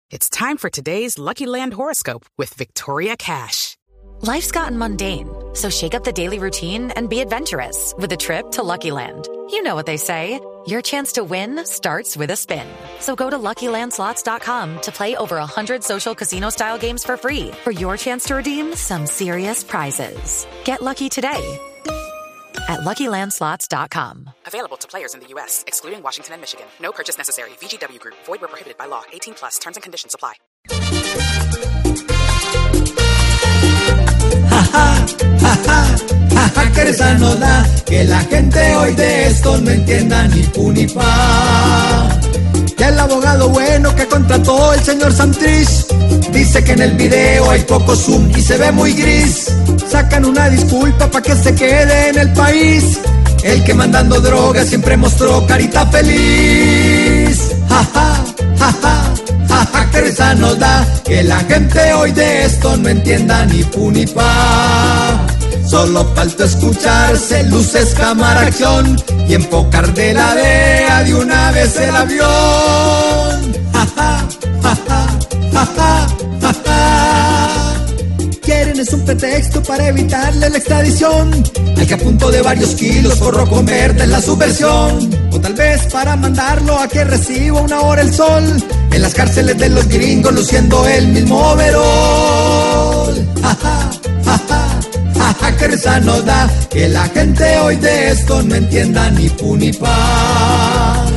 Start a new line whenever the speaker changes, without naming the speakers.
It's time for today's Lucky Land horoscope with Victoria Cash.
Life's gotten mundane, so shake up the daily routine and be adventurous with a trip to Lucky Land. You know what they say, your chance to win starts with a spin. So go to LuckyLandSlots.com to play over 100 social casino-style games for free for your chance to redeem some serious prizes. Get lucky today at LuckyLandSlots.com.
Available to players in the U.S., excluding Washington and Michigan. No purchase necessary. VGW Group. Void where prohibited by law. 18 plus. Terms and conditions apply.
Que risa nos da que la gente hoy de esto no entienda ni pu ni pa. Que el abogado bueno que contrató el señor Santrich dice que en el video hay poco zoom y se ve muy gris. Sacan una disculpa pa' que se quede en el país. El que mandando drogas siempre mostró carita feliz. Que risa nos da que la gente hoy de esto no entienda ni pu ni pa. Solo falta escucharse luces, cámara, acción y enfocar de la DEA de una vez el avión. Quieren es un pretexto para evitarle la extradición al que a punto de varios kilos forró comer de la subversión, o tal vez para mandarlo a que reciba una hora el sol en las cárceles de los gringos luciendo el mismo overol. Que risa nos da que la gente hoy de esto no entienda ni pu ni pa.